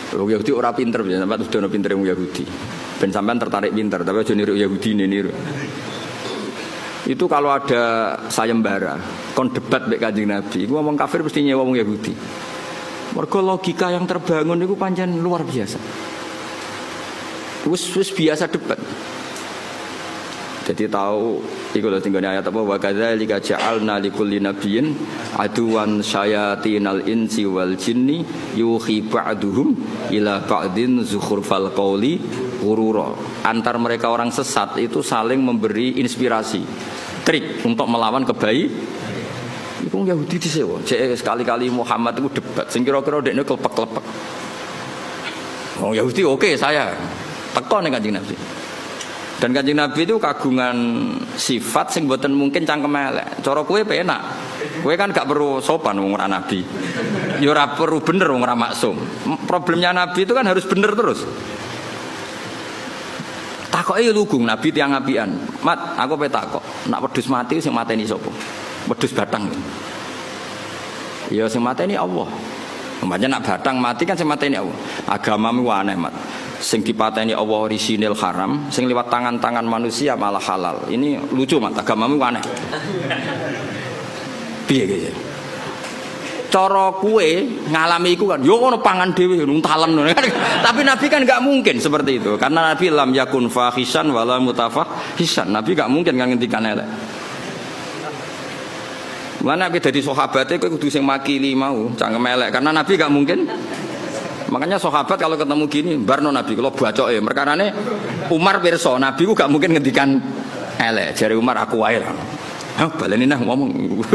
Wong Yahudi ora pinter, sampeyan udah pinter wong Yahudi. Ben sampean tertarik pinter, tapi aja niru Yahudi niru. Itu kalau ada sayembara, kon debat mbek Kanjeng Nabi, iku ngomong kafir mesti nyewa wong Yahudi. Mergo logika yang terbangun itu pancen luar biasa. Wis biasa debat. Jadi tahu iku lho tinggone ayat apa wa kadzalika ja'alna likulli nabiyyin aduwan syayatinal insi wal jinni yuhi ba'duhum ila ba'din zukhrufal qawli ghurura. Antar mereka orang sesat itu saling memberi inspirasi, trik untuk melawan kebaikan. Iku Yahudi disewa. Cek sekali-kali Muhammad itu debat. Sing kira-kira dekne klepek-klepek. Oh Yahudi oke saya. Teko ning Kanjeng Nabi. Dan Kanjeng Nabi itu kagungan sifat sing mboten mungkin cangkem elek. Cara kowe penak. Kowe kan gak perlu sopan wong ora nabi. Ya ora perlu bener wong ora maksum. Problemnya Nabi itu kan harus bener terus. Takoke lugung Nabi tiang apian. Mat, aku pe takok. Nak wedhus mati sing mateni sapa? Wedhus batang. Ya sing mateni Allah. Umpamanya nak batang mati kan sing mateni Allah. Agamamu aneh, Mat. Sing dipateni Allah orisinil haram, sing liwat tangan-tangan manusia malah halal. Ini lucu, Mat. Agamamu aneh. Piye iki? Cara kue ngalami iku kan yo ono pangan dhewe nuntalen. Tapi Nabi kan enggak mungkin seperti itu. Karena Nabi lam yakun fahishan wala mutafahishan. Nabi enggak mungkin kan ngendikan elek. Mana Nabi dari sahabatnya kowe kudu sing makili mau, cangkem elek karena Nabi gak mungkin. Makanya sahabat kalau ketemu gini, barno Nabi kalau bacoke, merkarane Umar pirsa, Nabi ku gak mungkin ngendikan elek. Jare Umar aku wae. Hah, baleni nah ngomong.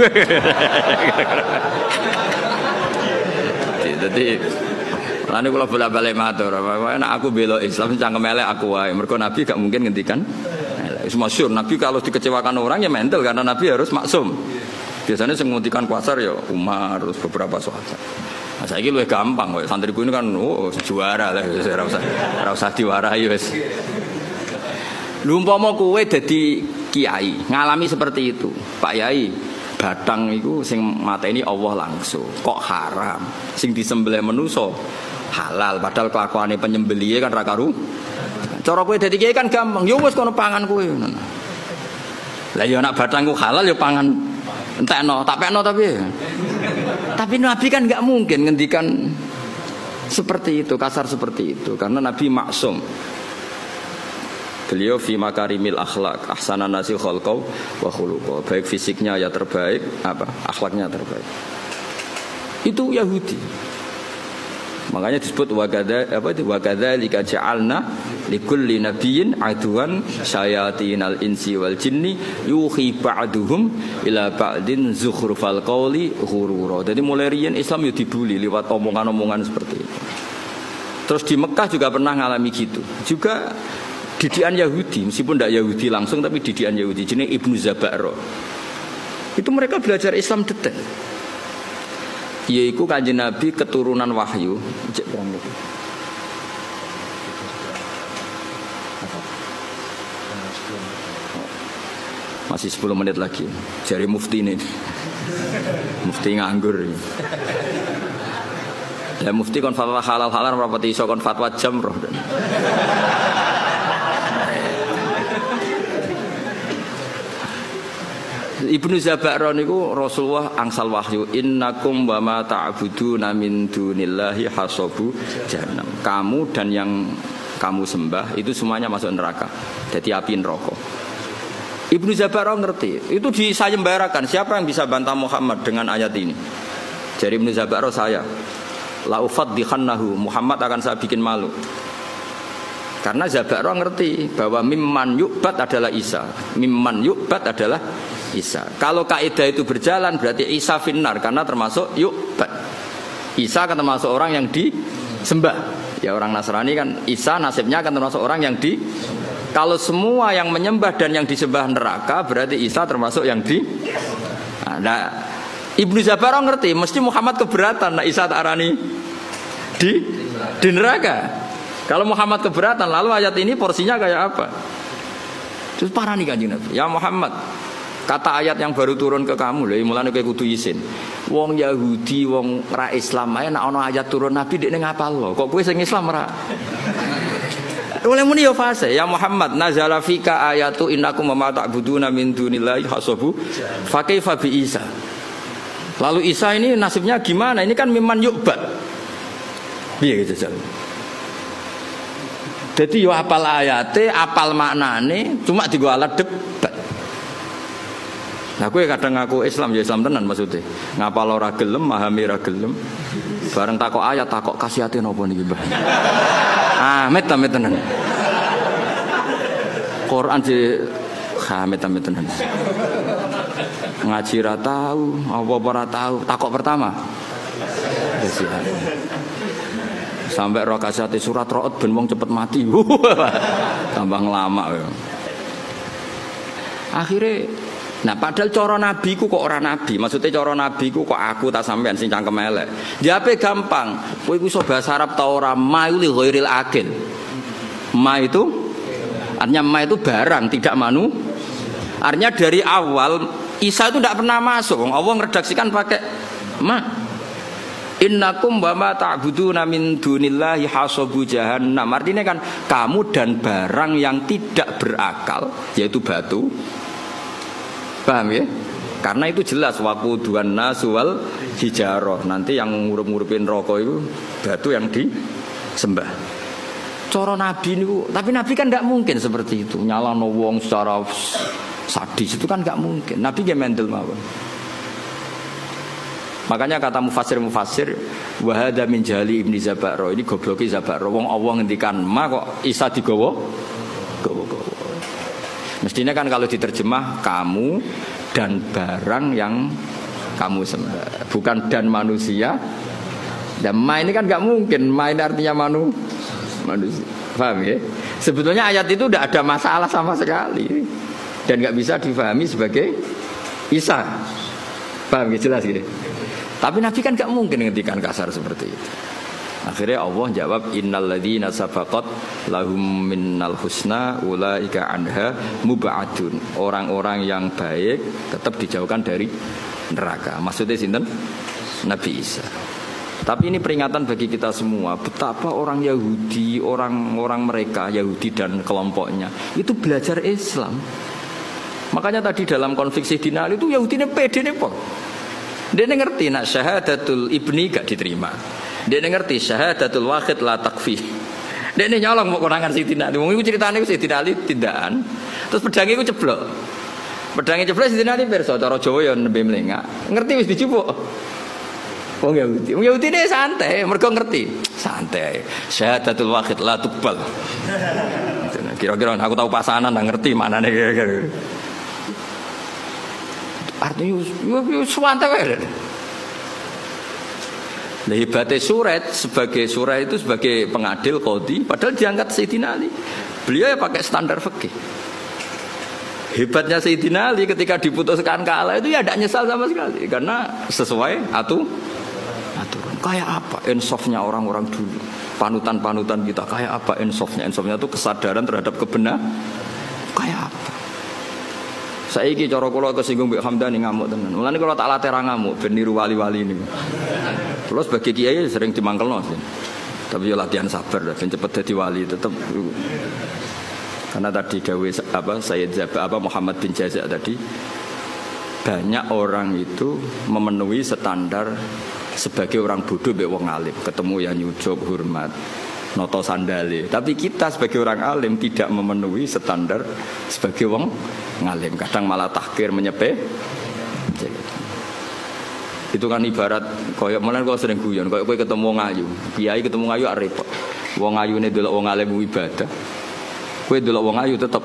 Jadi lane kula bolak-balik matur, nek aku bela Islam cangkem elek aku wae. Mergo Nabi gak mungkin ngendikan elek. Wis masyhur Nabi kalau dikecewakan orang ya mental karena Nabi harus maksum. Biasanya yang menghentikan kuasar ya Umar terus beberapa sahabat. Nah, saya lebih gampang, santriku ini kan juara lah, ora usah diwarai wis. Lumpama kowe dadi kiai, ngalami seperti itu. Pak Yai, batang itu sing mateni Allah langsung. Kok haram? Sing disembelih manusa halal, padahal kelakuane penyembelihe kan ra karu. Cara kowe dadi kiai kan gampang. Ya wis kono pangan kowe. Lah ya nek batangku halal ya pangan. Entekno, tak pekno tapi Nabi kan nggak mungkin ngendikan seperti itu, kasar seperti itu karena Nabi maksum. Beliau fi makarimil akhlak, ahsanan nasi khalqau wa khuluqau. Baik fisiknya ya terbaik, akhlaknya terbaik. Itu Yahudi. Makanya disebut wa kadzalika ja'alna likulli nabiyyin aduwan syayatinal insi wal jinni yuhi ba'duhum ila ba'din zukhrufal qawli ghurura. Jadi mulai riyen Islam ya dibuli lewat omongan-omongan seperti itu. Terus di Mekah juga pernah ngalami gitu. Juga didikan Yahudi, meskipun tidak Yahudi langsung tapi didikan Yahudi jenenge Ibnu Zaba'ro. Itu mereka belajar Islam detail. Yaitu Kanjeng Nabi keturunan wahyu. Masih 10 menit lagi. Jari mufti ini. Mufti nganggur. Ya mufti kon fatwa halal-halal rapati iso kon fatwa jamroh. Ibnu Zaba'ro niku Rasulullah angsal wahyu innakum wa ma ta'buduna min dunillahi hasabu jahannam. Kamu dan yang kamu sembah itu semuanya masuk neraka. Jadi api neraka. Ibnu Zaba'ro ngerti. Itu disayembarakan. Siapa yang bisa bantah Muhammad dengan ayat ini? Jadi Ibnu Zaba'ro saya la ufaddihannahu, Muhammad akan saya bikin malu. Karena Zaba'ro ngerti bahwa mimman yu'bad adalah Isa. Mimman yu'bad adalah Isa. Kalau kaidah itu berjalan berarti Isa finnar karena termasuk yu'bad. Isa akan termasuk orang yang disembah. Ya orang Nasrani kan Isa nasibnya akan termasuk orang yang di. Kalau semua yang menyembah dan yang disembah neraka berarti Isa termasuk yang di. Nah, Ibnu Zaba'ro ngerti mesti Muhammad keberatan nah Isa tak arani di neraka. Kalau Muhammad keberatan lalu ayat ini porsinya kayak apa? Terus parah nih Kanjeng Nabi. Ya Muhammad, Kata ayat yang baru turun ke kamu lho, mulane kowe kudu isin. Wong Yahudi, wong ra Islam ae nek ana ayat turun Nabi dekne ngapalno. Kok kowe sing Islam ra? Oleh muni yo fase ya Muhammad nazala fika ayatu innakum ma ta'buduna min dunillahi hasabu fa kaifa bi Isa. Lalu Isa ini nasibnya gimana? Ini kan miman yu'bad. Piye gitu jal. Dadi yo apal ayate, apal maknane, cuma digo alat debat. Nah kowe kadang ngaku Islam ya Islam tenan maksudnya. Ngapal ora gelem, memahami ora gelem. Bareng takok ayat takok kasihate napa niki, Mbah? Amit tenan. Quran di amit tenan. Ngaji ra tahu, apa ora tahu. Takok pertama. Sampai roh kasihate surat Ra'd ben wong cepet mati. Tambah ngelama. Akhirnya nah padahal cara nabi ku kok ora nabi, maksudnya cara nabi ku kok aku tak sampean sing cangkem elek. Diape gampang, kowe iku iso bahasa Arab ta ora ma li ghairil akil. Ma itu artinya ma itu barang tidak manu. Artinya dari awal Isa itu tidak pernah masuk. Allah ngeredaksikan pakai ma. Innakum wa ma ta'buduna min dunillahi hasabu jahannam. Artinya kan kamu dan barang yang tidak berakal yaitu batu. Paham ya? Karena itu jelas waquduhan nas wal hijarah. Nanti yang ngurup-ngurupin rokok itu batu yang disembah. Cara Nabi niku, tapi Nabi kan enggak mungkin seperti itu. Nyalano wong secara sadis itu kan enggak mungkin. Nabi ge mendel mawon. Makanya kata mufassir wa hadza min jahli ibni Zabaro, ini gobloke Zabaro. Wong Allah ngendikan ma kok Isa digawa. Mestinya kan kalau diterjemah kamu dan barang yang kamu sembah, bukan dan manusia. Dan ma ini kan nggak mungkin, ma ini artinya manusia. Paham ya? Sebetulnya ayat itu tidak ada masalah sama sekali dan nggak bisa difahami sebagai Isa. Paham ya? Jelas gitu. Tapi Nabi kan nggak mungkin ngendikan kasar seperti itu. Akhirnya Allah jawab innal ladzina sabaqat lahum minnal husna ulaika anha mub'adun. Orang-orang yang baik tetap dijauhkan dari neraka. Maksudnya sinten? Nabi Isa. Tapi ini peringatan bagi kita semua betapa orang Yahudi, orang-orang mereka Yahudi dan kelompoknya itu belajar Islam. Makanya tadi dalam konflik Sayyidina Ali itu Yahudi ini pede nih Pak. Dia ngerti nak syahadatul ibni gak diterima. Dia ngerti syahadatul wahid la takfi. Dia nyolong mau konangan Sayyidina Ali. Wong iku critane Sayyidina Ali tindakan. Terus pedange iku ceblok. Pedange ceblok Sayyidina Ali pirsa cara Jawa ya nembe mlengak. Ngerti wis dicupuk. Wong Yahudi. Wong Yahudi ne santai, mergo ngerti. Santai. Syahadatul wahid la tuqbal. Kira-kira aku tahu pasanan nggak ngerti maknane kira-kira. Artinya yo santai wae. Nah, hebatnya Surat sebagai Surah itu sebagai pengadil qadhi, padahal diangkat Sayyidina Ali. Beliau ya pakai standar fikih. Hebatnya Sayyidina Ali ketika diputuskan kalah itu ya tidak nyesal sama sekali karena sesuai aturan. Kayak apa insafnya orang-orang dulu, panutan-panutan kita kayak apa insafnya? Insafnya itu kesadaran terhadap kebenaran. Kayak apa? Saiki cara kula kesinggung Mbak Hamdani ngamuk tenan. Mulane kula tak latih ra ngamuk ben niru wali-wali niku. Kula sebagai kiai sering dimangkelno sih. Tapi yo latihan sabar ben cepet dadi wali tetep. Karena tadi dawuh Sayyid Muhammad bin Jaza tadi banyak orang itu memenuhi standar sebagai orang bodoh mbek wong alim, ketemu yang nyucuk hormat noto sandale. Tapi kita sebagai orang alim tidak memenuhi standar sebagai wong ngalim, kadang malah tahkir menyepe. Itu kan ibarat koyok mulane kok sering guyon koyok kowe ketemu wong ayu, kiai ketemu ayu repot. Wong ayune delok wong alim ibadah. Kowe delok wong ayu tetep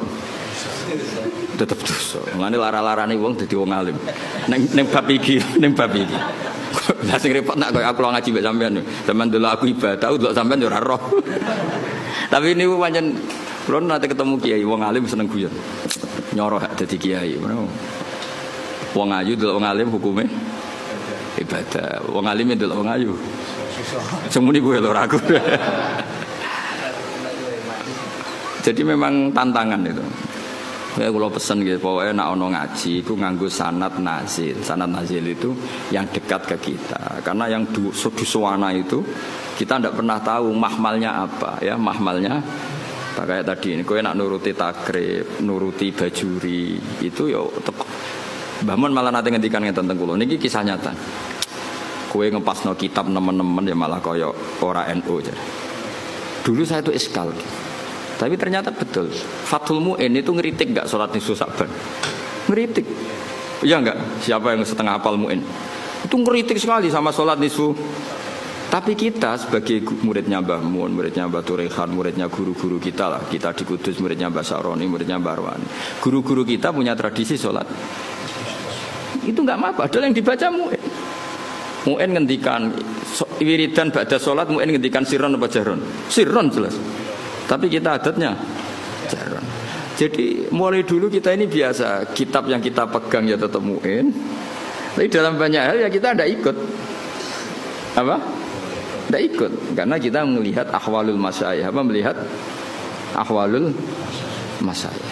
dosa. Mulane lara-larane wong dadi wong alim. Ning bab iki. Lah sing repot nak koyo aku ngaji mbek sampean. Sampeyan delok aku ibadah, delok sampean yo ora roh. Tapi niku pancen kula nate ketemu kiai wong alim seneng guyon. Nyoroh dadi kiai. Wong ayu delok wong alim hukume ibadah. Wong alim delok wong ayu. Semuni kuwi lho aku. Jadi memang tantangan itu. Ya kalau pesen gitu, pokoknya nak ono ngaji, itu nganggo sanad nazil. Sanad nazil itu yang dekat ke kita. Karena yang dusuwana itu kita tidak pernah tahu mahmalnya apa, ya mahmalnya. Kayak tadi ini, kowe nak nuruti takrib, nuruti bajuri, itu ya tepat. Bahman malah nanti ngendikan ngeten teng kula. Niki kisah nyata. Kowe ngepasno kitab nemen-nemen ya malah kaya ora NU jadi. Dulu saya itu iskal. Tapi ternyata betul. Fathul Mu'in itu ngeritik enggak salat nisfu Sa'ban? Ngeritik. Iya enggak? Siapa yang setengah hafal Mu'in? Itu ngeritik sekali sama salat nisfu. Tapi kita sebagai muridnya Mbah Mun, muridnya Mbah Turehan, muridnya guru-guru kita lah. Kita di Kudus muridnya Mbah Saroni, muridnya Mbah Arwani. Guru-guru kita punya tradisi salat. Itu enggak apa-apa, adalah yang dibaca Mu'in. Mu'in ngendikan wiridan ba'da salat, Mu'in ngendikan sirron apa jahron? Sirron jelas. Tapi kita adatnya jarang. Jadi mulai dulu kita ini biasa, kitab yang kita pegang ya tetap Mu'in. Tapi dalam banyak hal ya kita tidak ikut. Apa? Tidak ikut. Karena kita melihat ahwalul masyayikh. Apa melihat ahwalul masyayikh.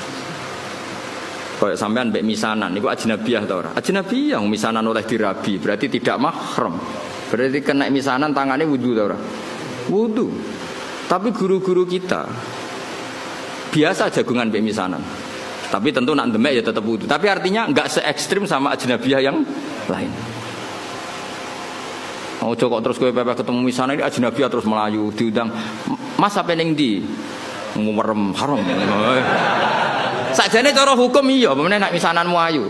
Kayak sampean mbek misanan niku ajnabiyah ta ora? Ajnabiyah misanan oleh dirabi, berarti tidak mahram. Berarti kena misanan tangannya wudu ta ora? Wudu. Tapi guru-guru kita biasa jagungan mbek misanan. Tapi tentu nak demek ya tetap wudu. Tapi artinya enggak se ekstrim sama ajnabiyah yang lain. Ojo kok terus kowe pepe ketemu misanan ini ajnabiyah terus melayu diundang. Mas sampe ning ndi? Ngumerem haram. Sakjane cara hukum iya, pemene nak misananmu ayu.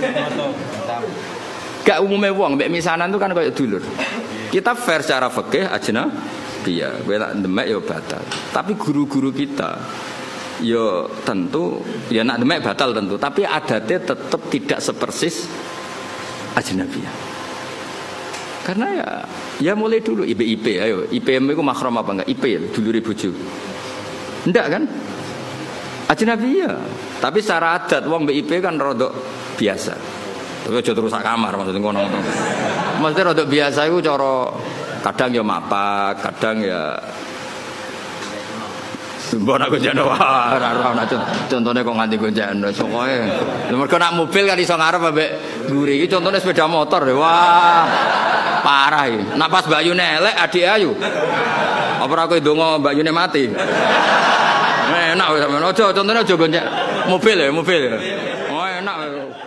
Gak umume wong mbek misanan itu kan kayak dulur. Kita fair secara fikih ajnabiyah, kowe tak demek ya batal. Tapi guru-guru kita ya tentu ya nak demek batal tentu, tapi adatnya tetap tidak sepersis ajnabiyah. Karena ya mulai dulu IP ayo, IPM itu mahram apa enggak? IP ya, dulure bojo. Enggak kan? Ajnabiyah. Tapi secara adat wong BIP kan rodok biasa. Tapi aja terus sak kamar maksudnya ngono. Maksudnya rodok biasa iku cara kadang ya mapak, kadang ya mbok nak gonjano ora contone kok nganti gonjano pokoke. Mergo nak mobil kan iso ngarep ambek mburi iki contone sepeda motor. Wah. Parah iki. Nak pas Mbak Yune elek adik ayu. Apa ora kowe ndonga Mbak Yune mati? Enak wis sampean. Aja contone aja gonjak mobil ya. Oh enak.